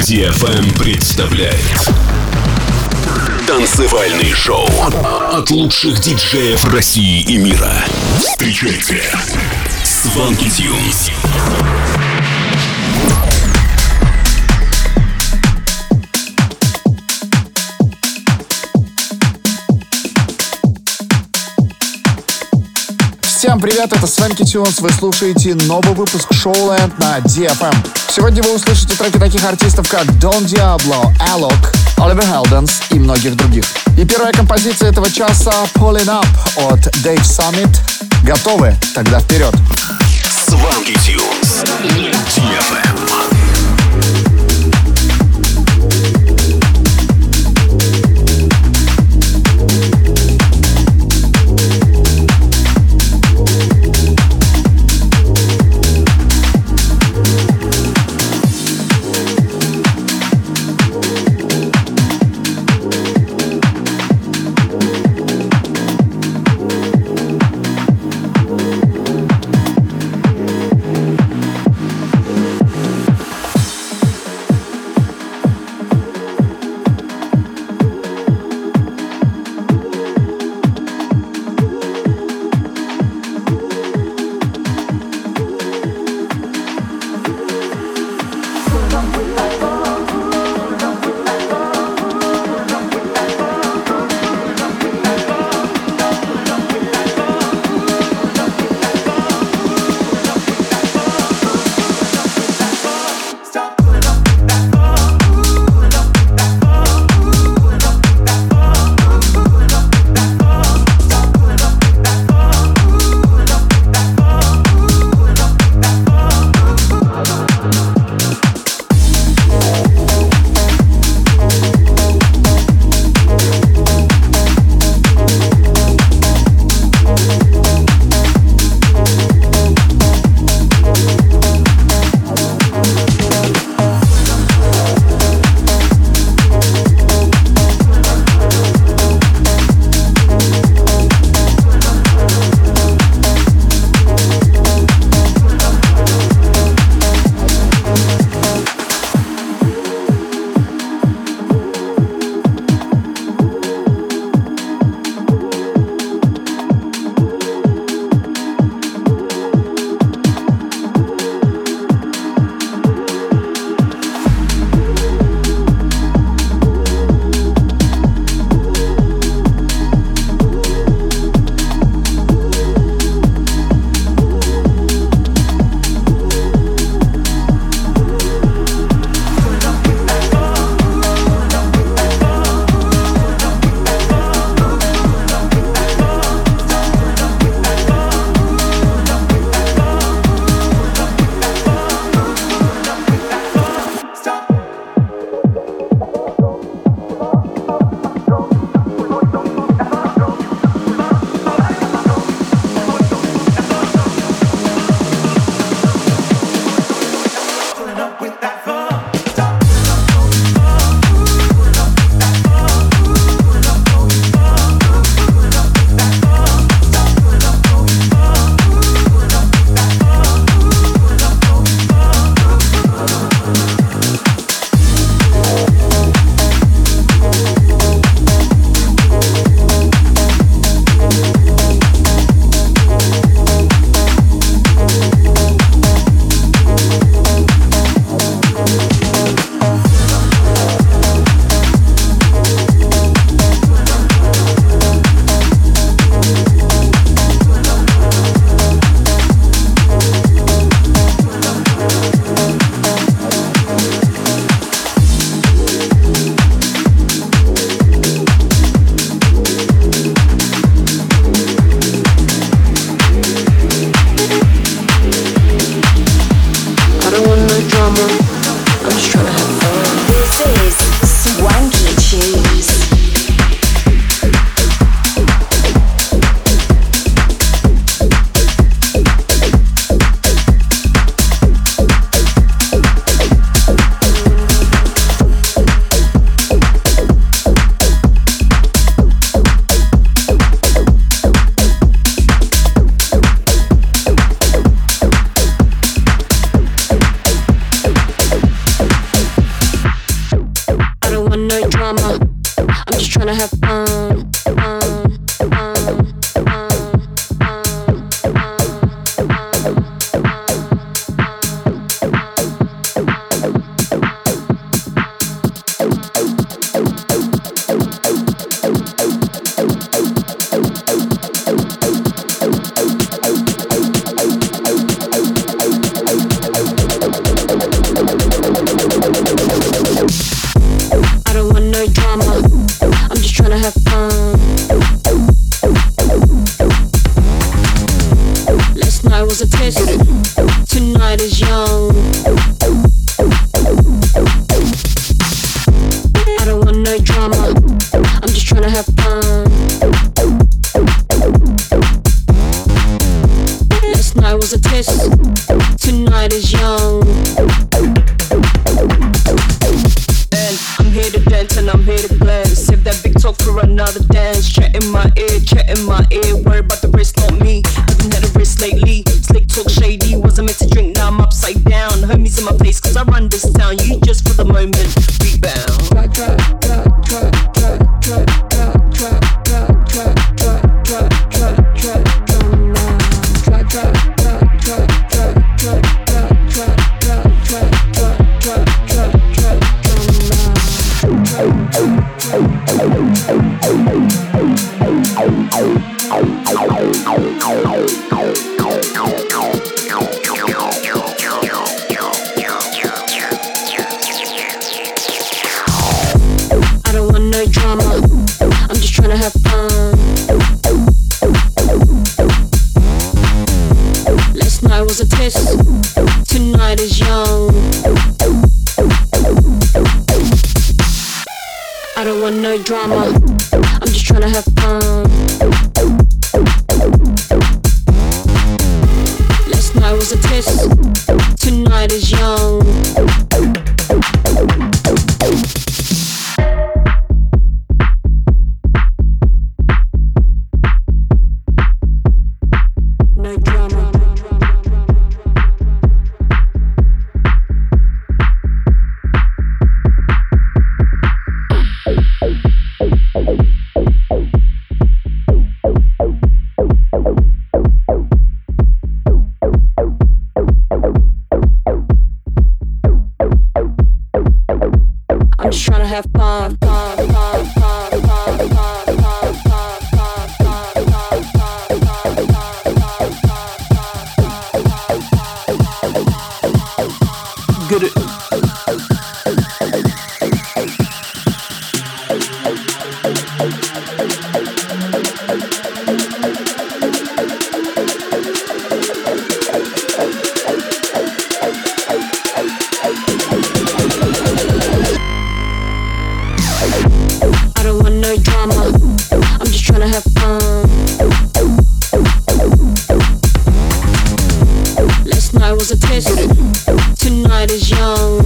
DFM представляет танцевальный шоу от лучших диджеев России и мира. Встречайте Swanky Tunes. Всем привет, это Swanky Tunes, вы слушаете новый выпуск Showland на DFM. Сегодня вы услышите треки таких артистов, как Don Diablo, Alok, Oliver Heldens и многих других. И первая композиция этого часа Pulling Up от Dave Summit. Готовы? Тогда вперед! Swanky Tunes на DFM. young. I don't want no drama, I'm just trying to have fun. Last night was a test, tonight is young. And I'm here to dance and I'm here to glance. Save that big talk for another dance. Chat in my ear, worry about the wrist, not me. Haven't had a wrist lately. Slick talk shady, wasn't meant to drink, now I'm upside down. Homies in my place cause I run this town. You just for the moment, rebound. Tonight is young. I don't want no drama, I'm just trying to have fun. Last night was a test, tonight is young. No drama. I'm just trying to have fun. Get it. I don't want no drama, I'm just trying to have fun. Last night was a test, tonight is young.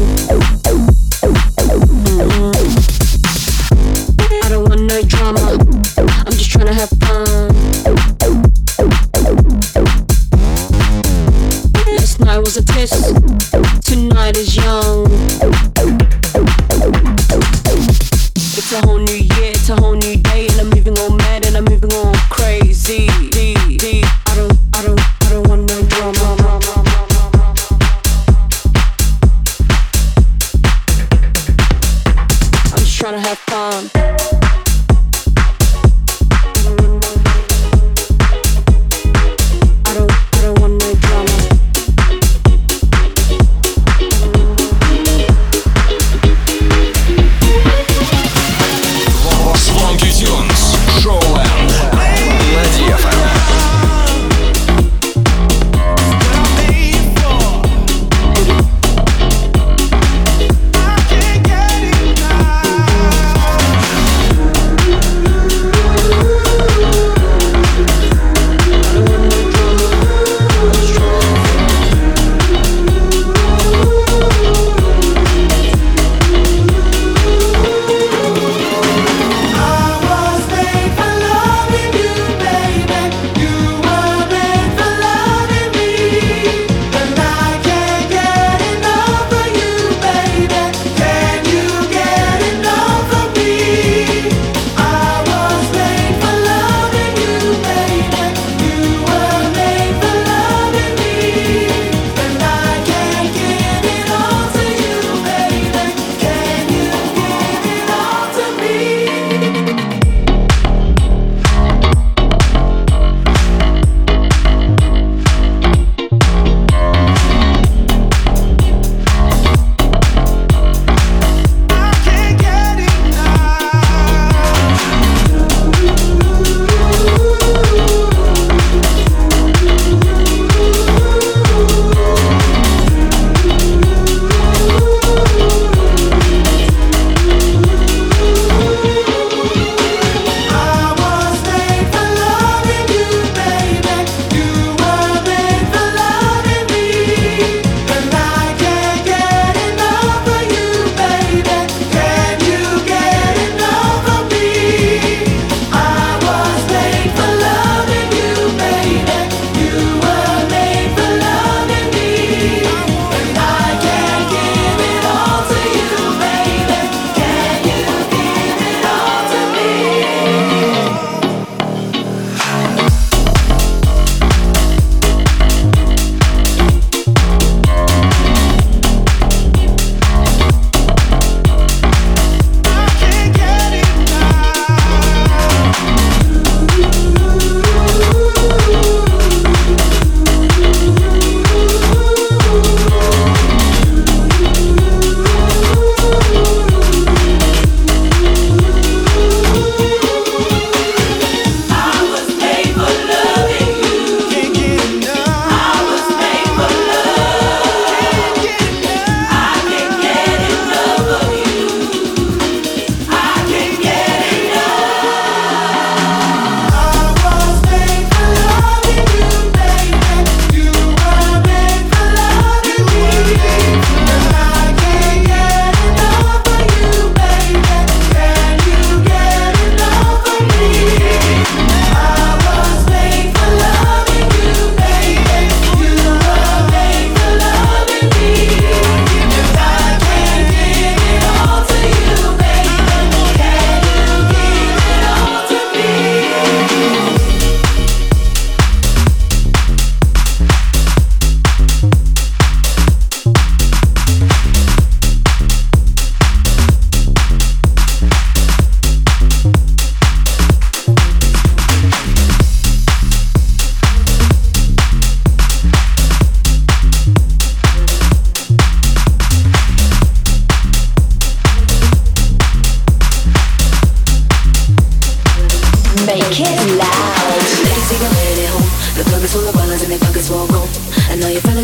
I don't want no drama, I'm just trying to have fun. Last night was a test, tonight is young. It's a whole new year, it's a whole new day, and I'm moving all mad and I'm moving all crazy. I don't want no drama. I'm just trying to have fun. I don't want no drama. Swanky Tunes, Showland на DFM.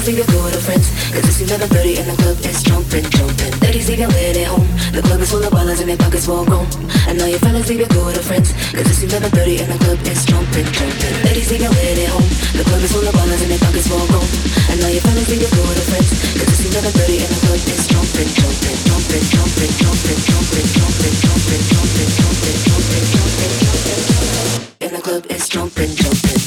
fellas leave your girl with her friends, cause it's 11:30 and the club is jumping, jumping. Ladies leave your lid at home, the club is full of ballers and their pockets full grown. And all your fellas leave your girl with her friends, cause it's 11:30 and the club is jumping, jumping. Ladies leave your lid at home, the club is full of ballers and their pockets full grown. And all your fellas leave your girl with her friends, cause it's 11:30 and the club is jumping, jumping, jumping, jumping, jumping, jumping, jumping, jumping, jumping, jumping, jumping, jumping, jumping. And the club is jumping, jumping.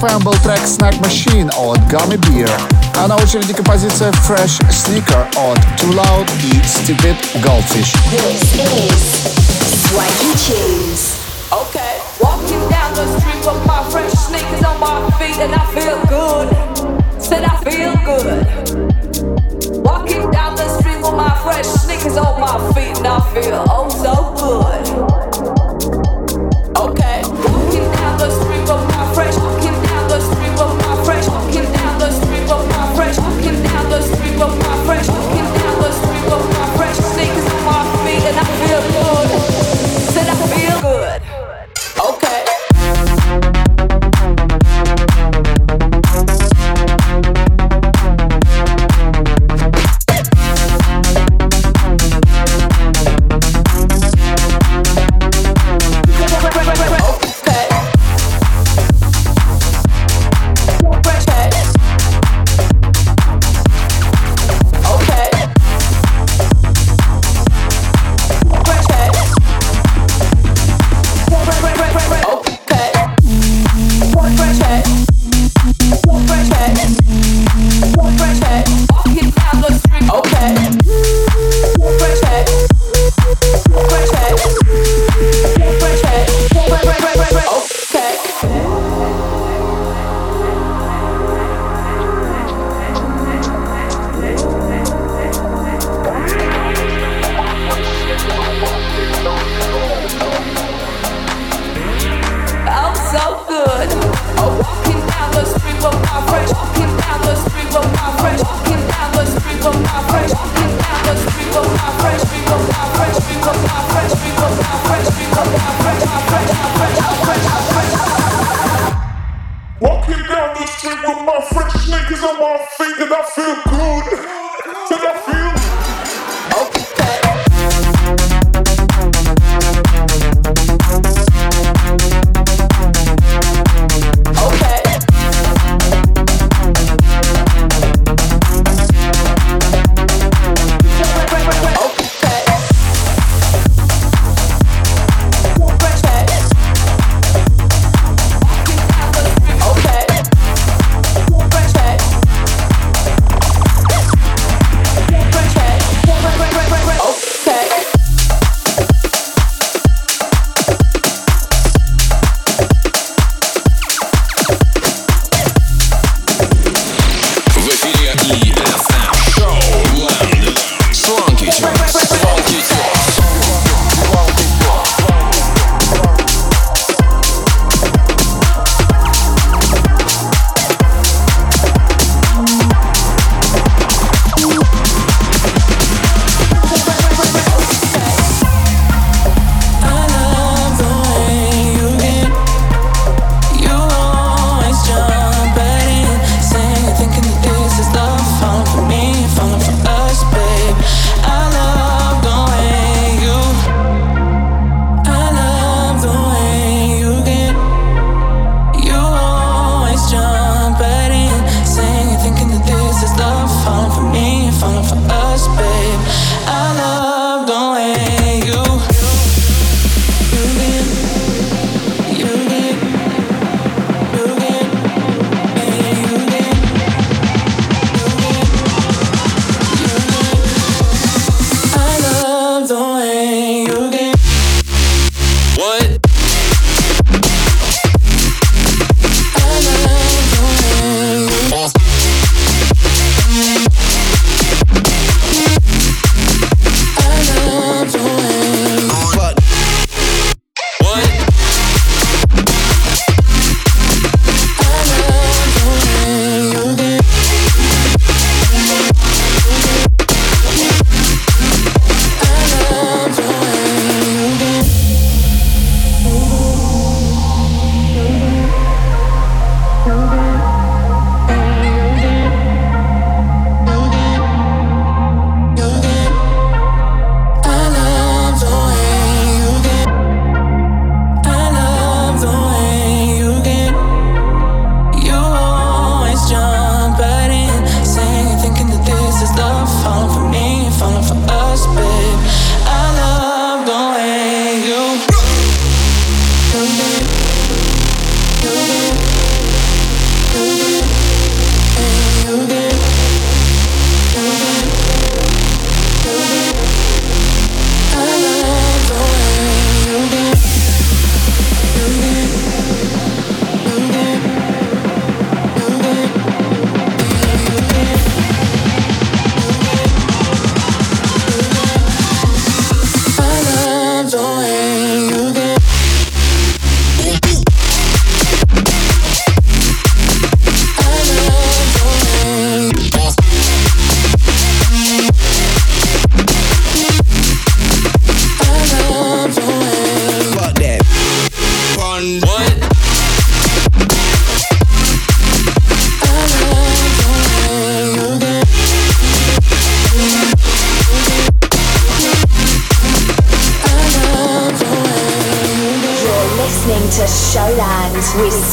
DFM был трек Snack Machine от Gummy Bear, а на очереди композиция Fresh Sneaker от Too Loud и Stupid Goldfish. This is Swanky Tunes. Okay, walking down the street with my fresh sneakers on my feet and I feel good. Said I feel good. Walking down the street with my fresh sneakers on my feet and I feel oh so good. Okay, walking down the street with my fresh, walking down the street with my fresh, walking down the street with my fresh, walking down the street with my fresh, walking down the street with my fresh sneakers on my feet and I feel good. Said I feel good. Okay.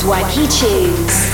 Swanky Tunes.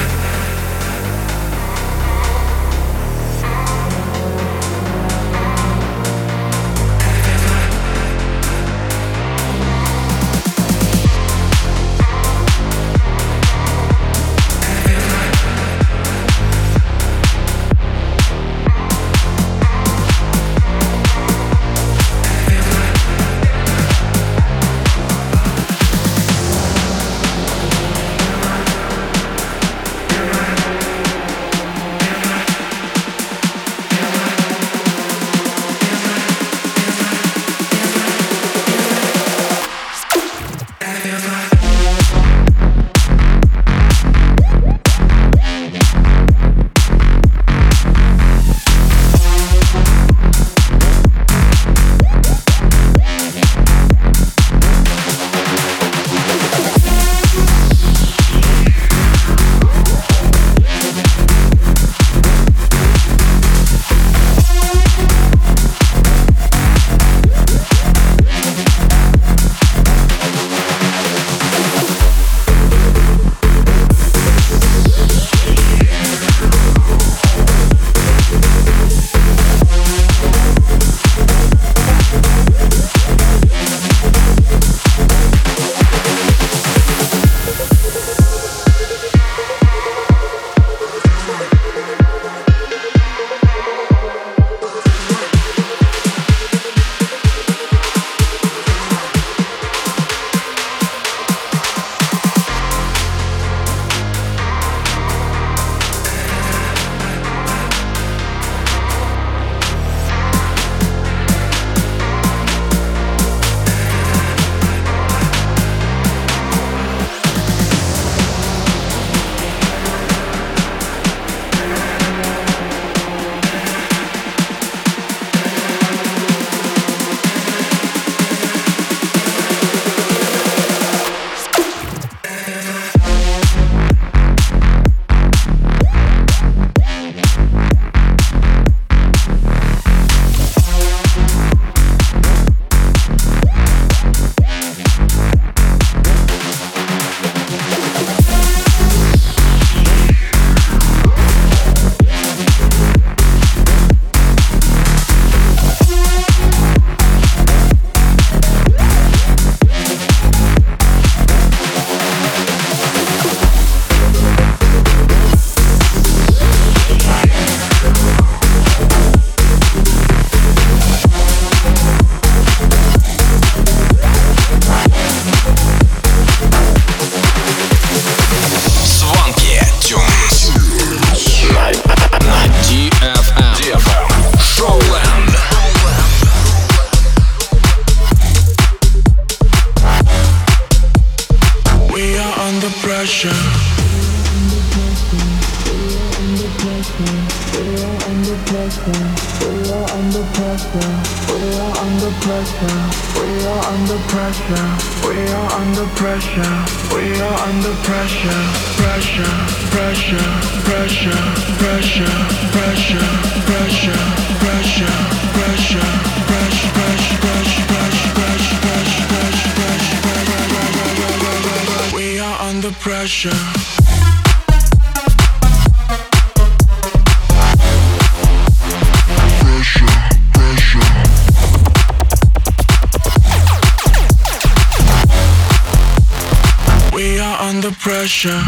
Pressure.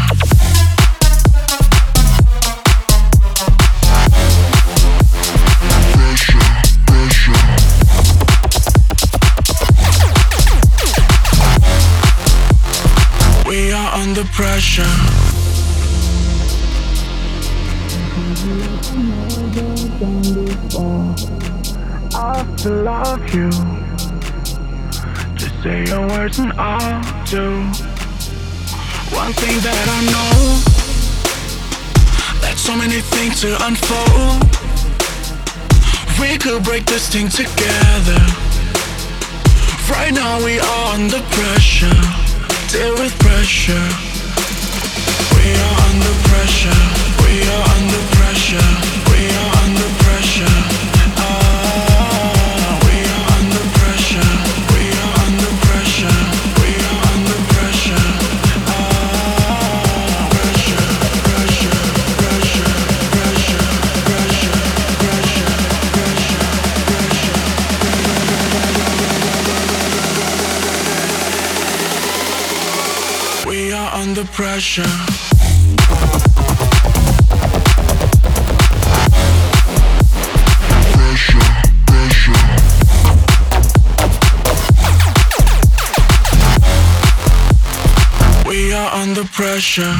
We are under pressure. I still love you. Just say your words and I'll do. One thing that I know, that's so many things to unfold. We could break this thing together. Right now we are under pressure. Deal with pressure. We are under pressure. We are under pressure. We are under pressure. We are under pressure. We are under pressure. We are under pressure. pressure. We are under pressure.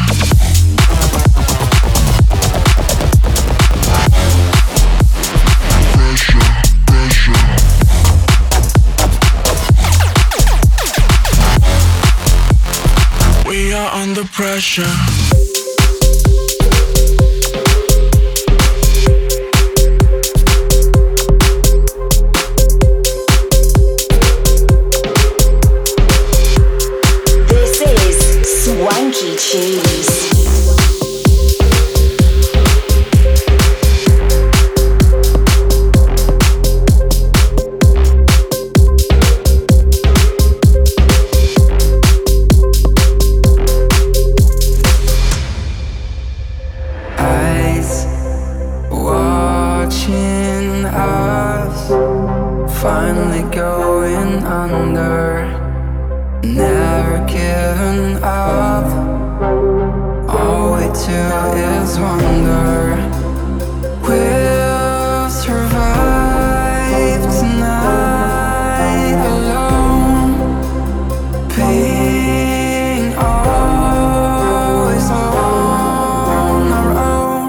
We are under pressure. This is Swanky Tunes. Finally going under, never giving up. All we do is wonder, we'll survive tonight alone, being always on our own.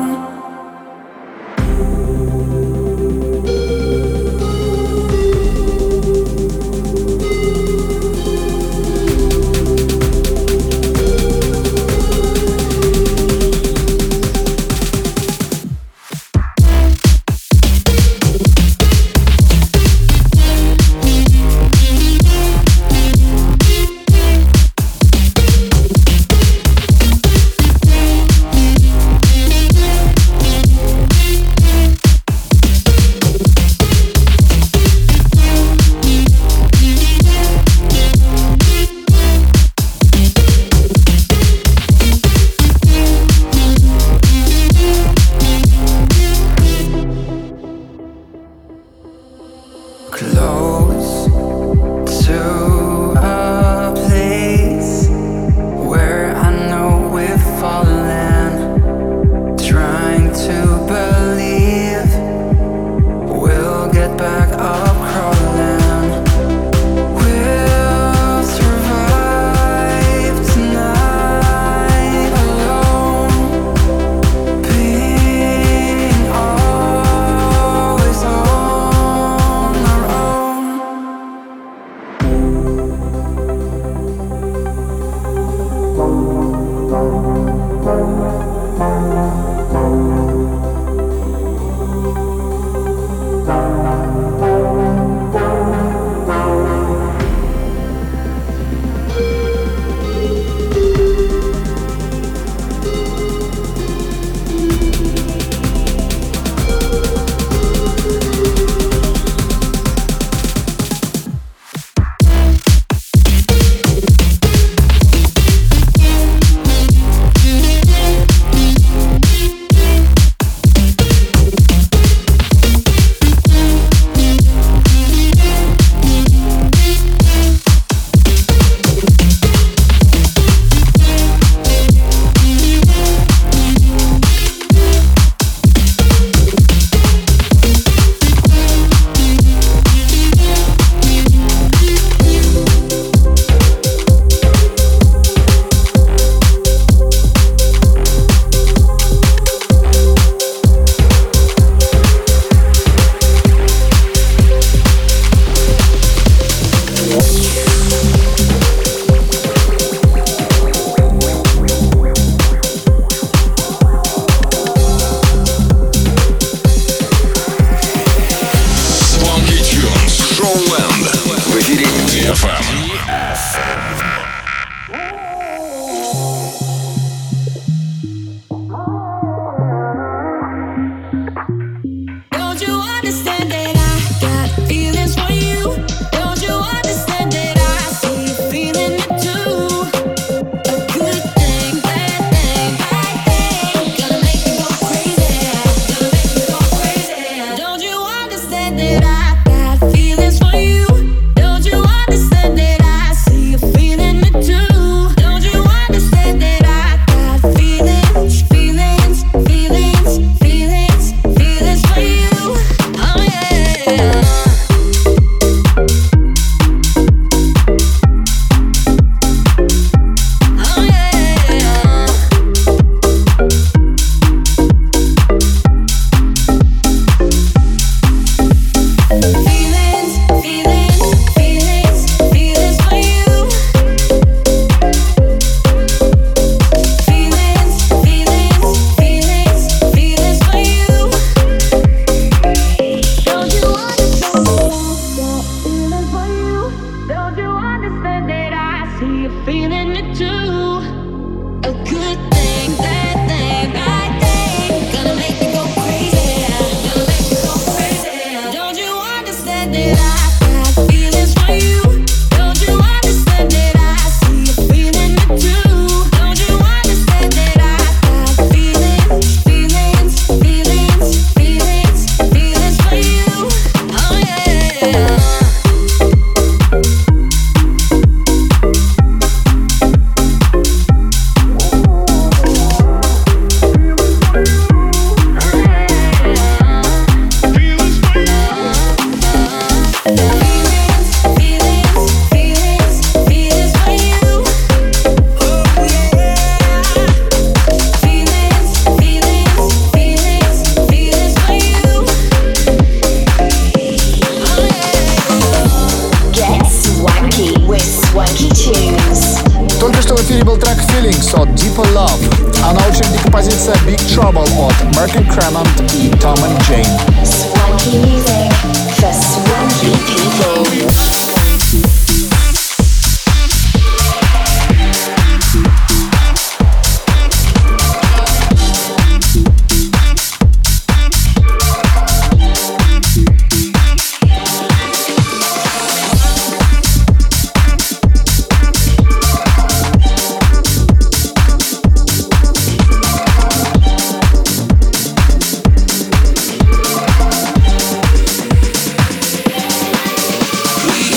for Love. А на очереди композиция Big Trouble от Mercury Clement и Tom and Jane. Swanky music for swanky people. We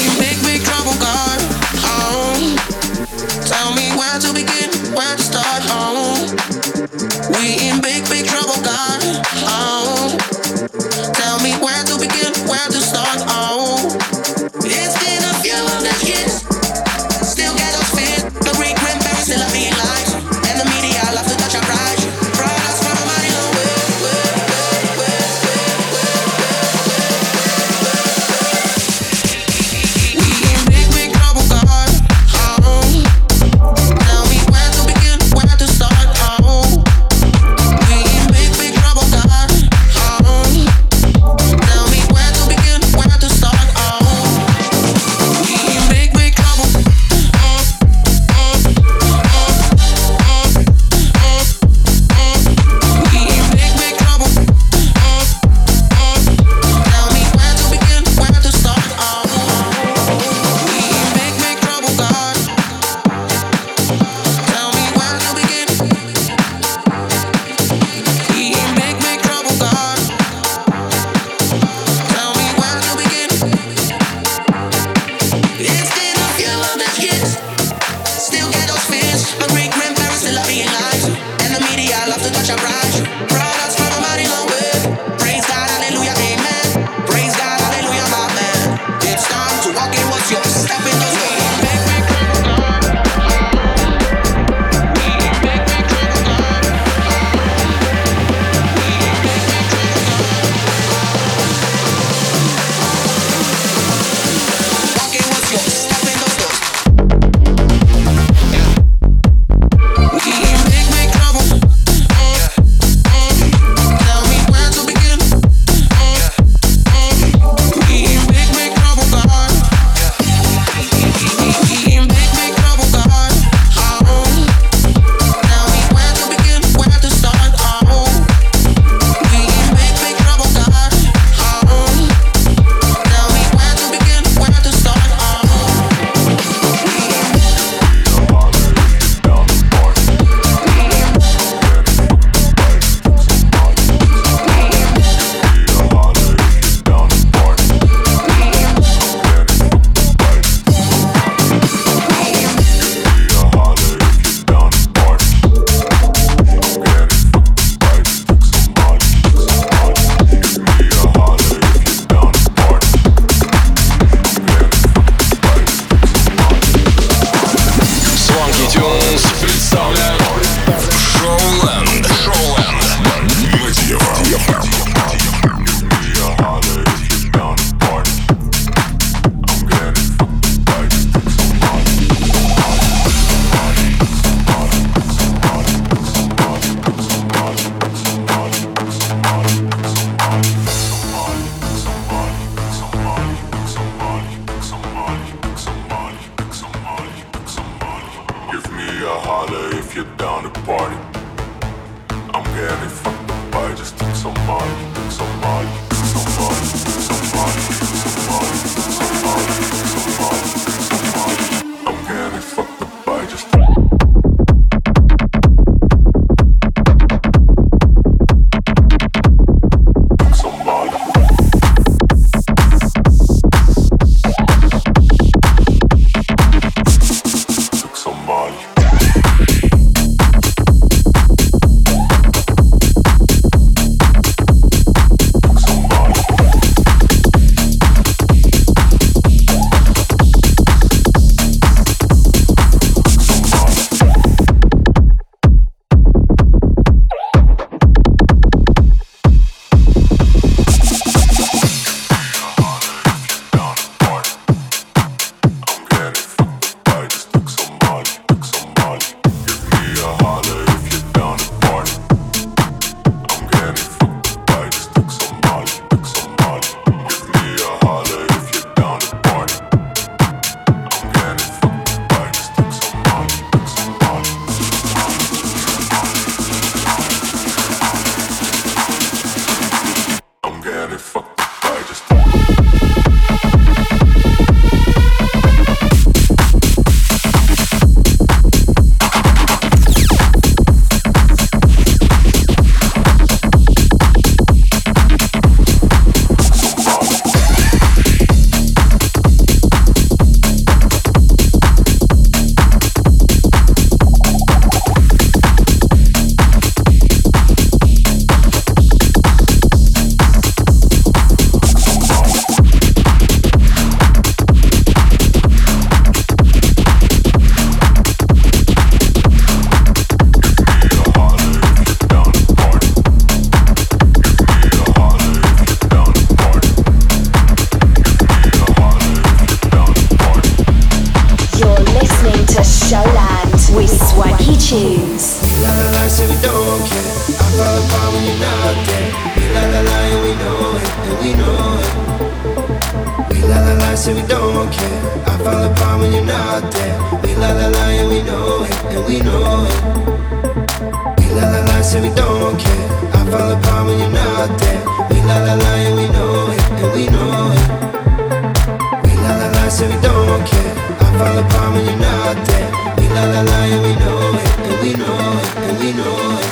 say we don't care. I fall apart when you're not there. We la la la and we know it, and we know it. We la la la, say we don't care. I fall apart when you're not there. We la la la and we know it, and we know it. We la la la, say we don't care. I fall apart when you're not there. We la la la and we know it, and we know it, and we know it.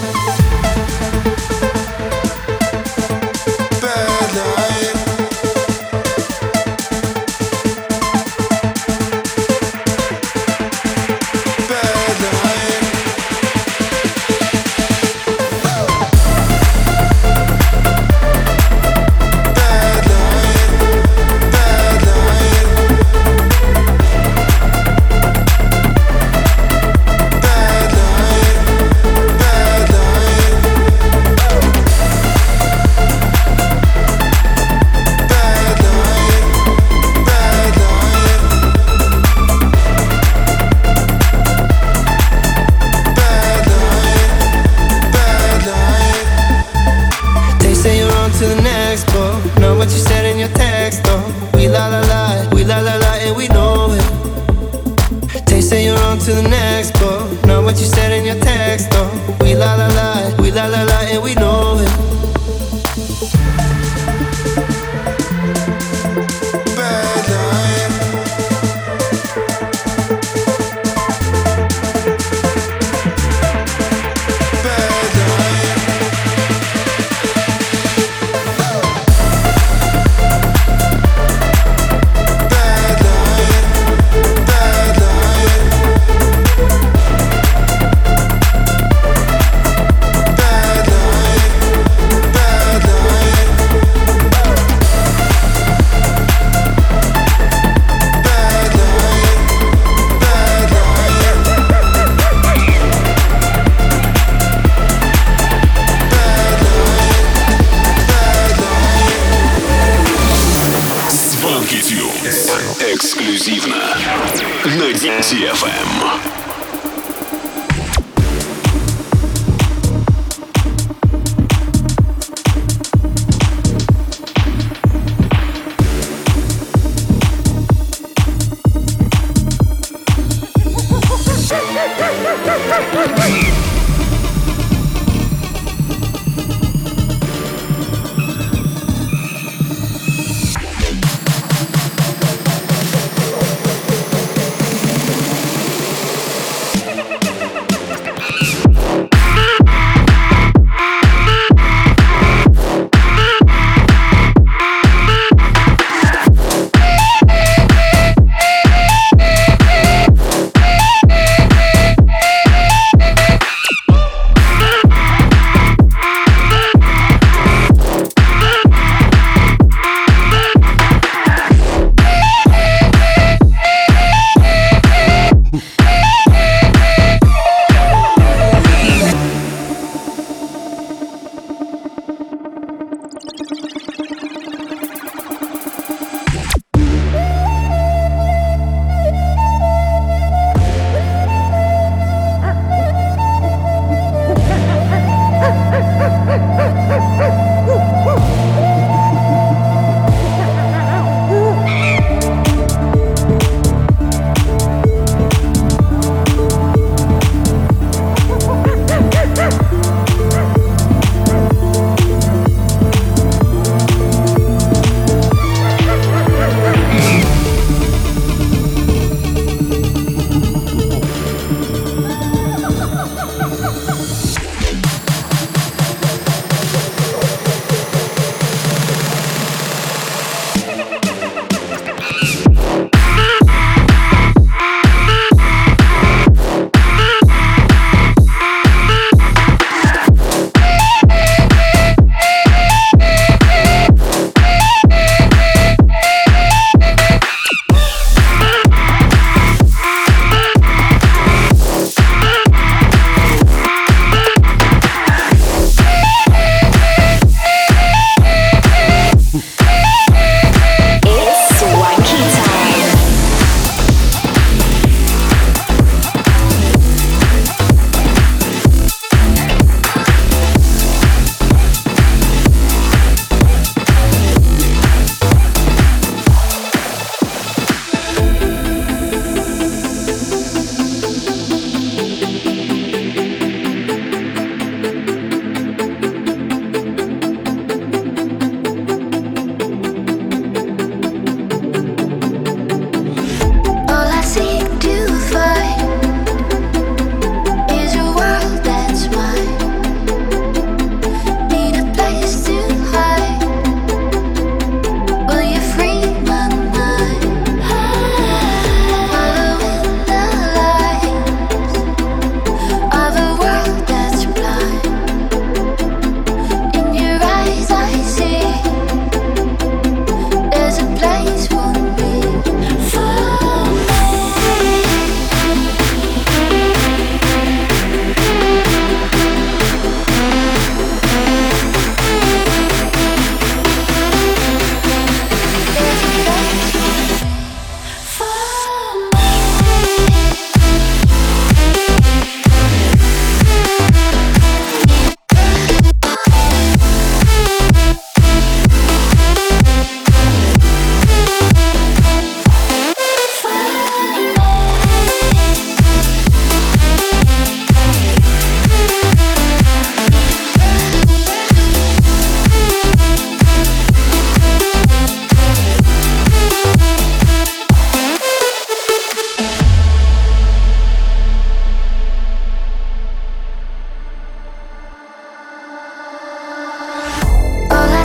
Эксклюзивно на DFM.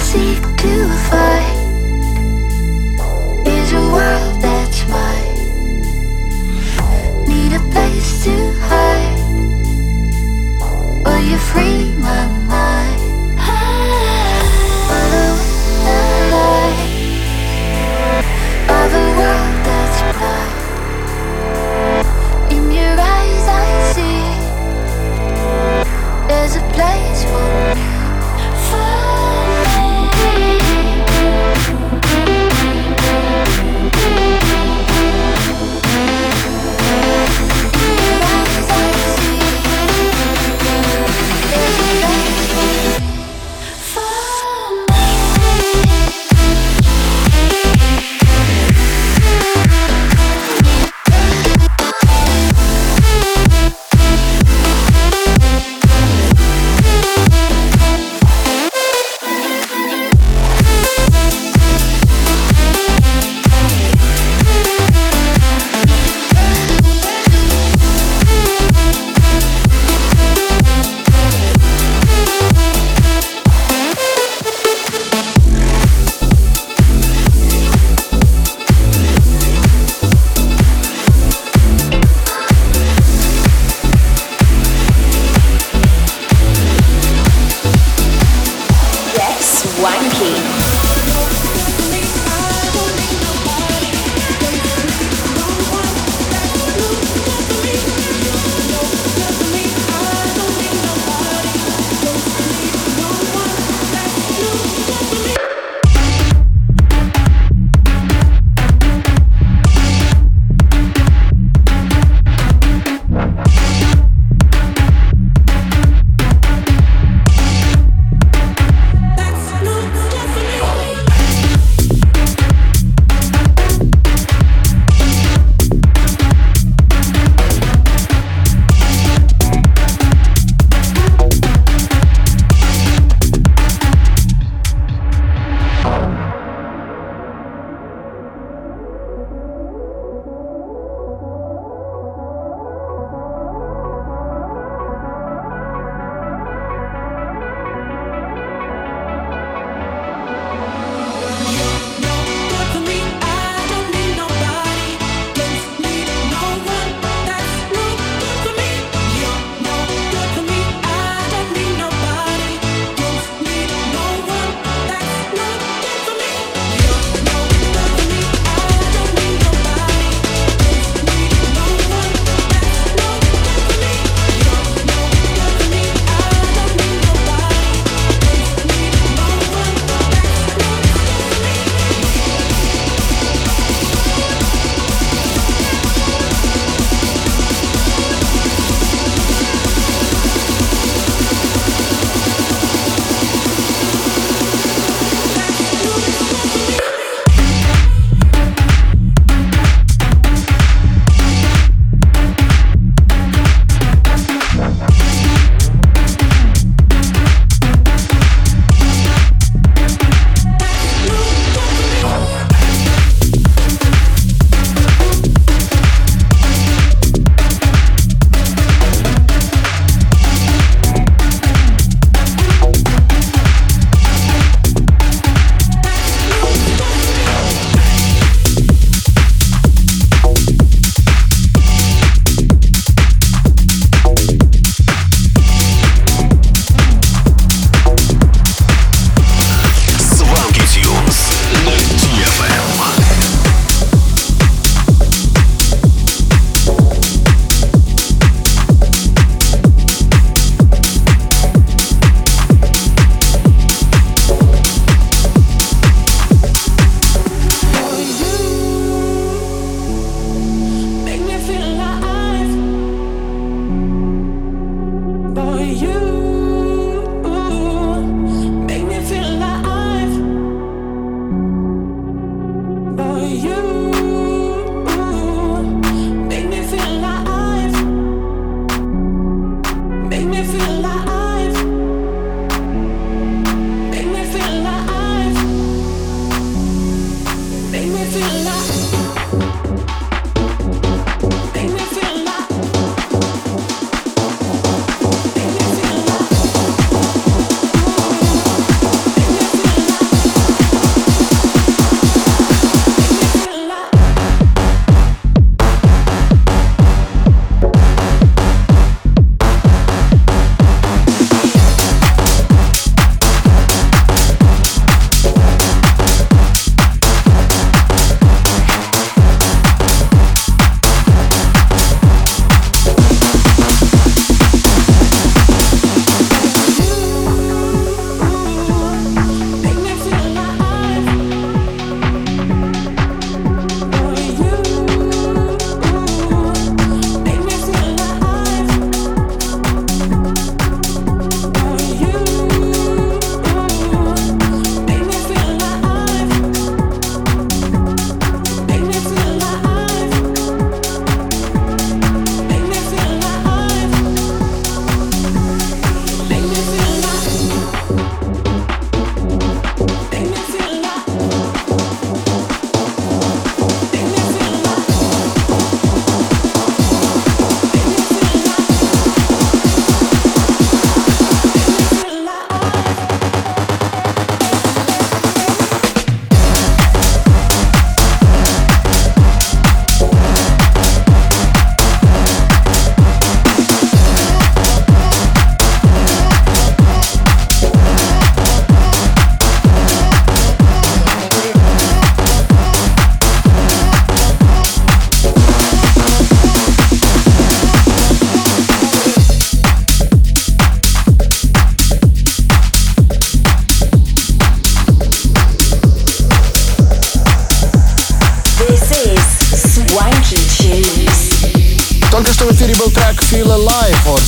seek to find is a world that's mine. Need a place to hide. Will you free my mind? Follow the light of a world that's blind. In your eyes I see there's a place for me. That's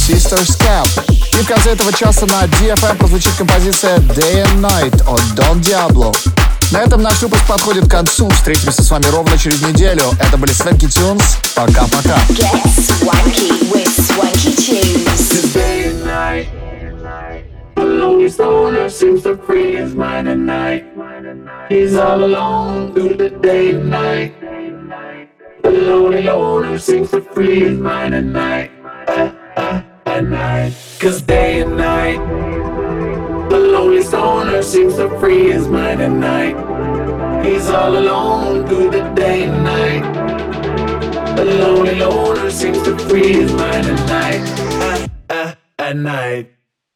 Sisters Cap. И в конце этого часа на DFM прозвучит композиция Day and Night от Don Diablo. На этом наш выпуск подходит к концу. Встретимся с вами ровно через неделю. Это были Swanky Tunes. Пока-пока. Get swanky with Swanky Tunes. Day and night, the lonely stoner seems to free his mind at night. He's all alone through the day and night. The lonely loner seems to free his mind at night. At night, 'cause day and night, the lonely stoner seems to free his mind at night. He's all alone through the day and night. The lonely loner seems to free his mind at night. At night.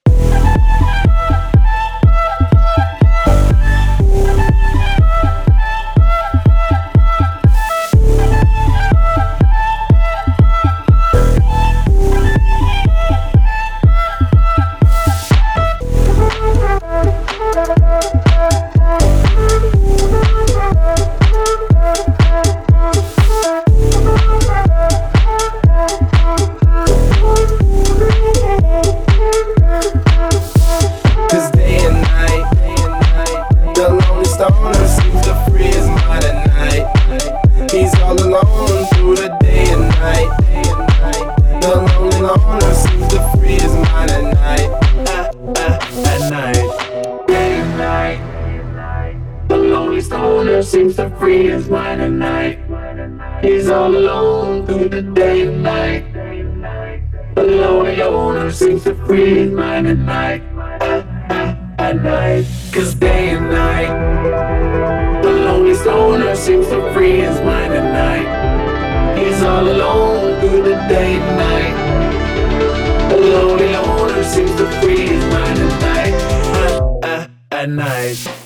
Seems to free his mind at night. He's all alone through the day and night. The lonely owner seems to free his mind at night. At night, 'cause day and night, the lonely stoner seems to free his mind at night. He's all alone through the day and night. The lonely owner seems to free his mind at night. At night.